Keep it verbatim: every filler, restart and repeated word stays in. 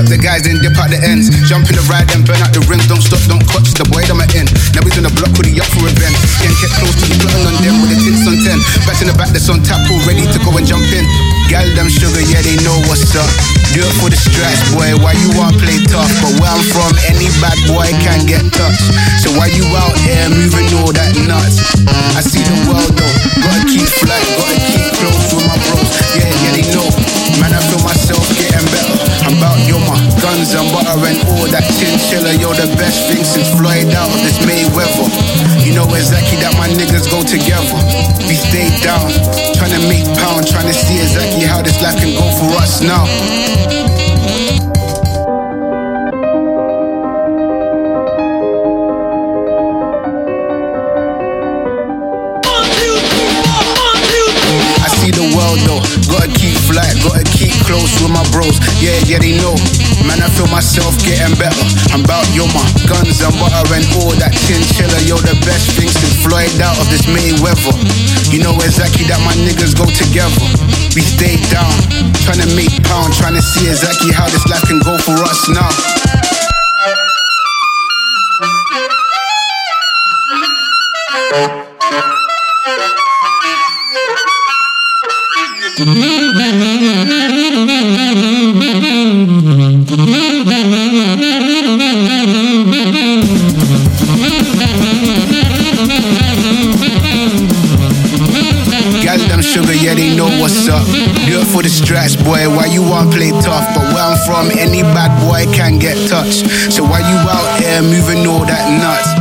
up the guys, then dip out the ends. Jump in the ride and burn out the rims. Don't stop, don't clutch the boy that I'm in. Now he's on the block with the up for event. Can't get close to the plotting on them with the tints on ten. Back in the back that's on tap, all ready to go and jump in. Gal them sugar, yeah they know what's up. Do it for the stripes, boy. Why you want play tough? But where I'm from, any bad boy can get touched. So why you out here moving all that nuts? I see the world though. Gotta keep flight, gotta keep close with my bros. Yeah, yeah they know. Man, I feel myself getting better. I'm about yo my guns and butter and all that chinchilla. You're the best thing since Floyd out of this Mayweather. You know exactly that my niggas go together. We stay down, trying to make pound, trying to see exactly how this life can go for us now. I see the world though, gotta keep flight, gotta keep close with my bros. Yeah, yeah they know. Man, I feel myself getting better. I'm about yo my guns and butter and all that chinchilla. You're the best thing since Floyd out of this Mayweather. You know exactly that my niggas go together. We stay down, trying to make pound, trying to see exactly how this life can go for us now. Gal them sugar, yeah they know what's up. Do it for the stripes, boy. Why you want play tough? But where I'm from, any bad boy can get touched. So why you out here moving all that nuts?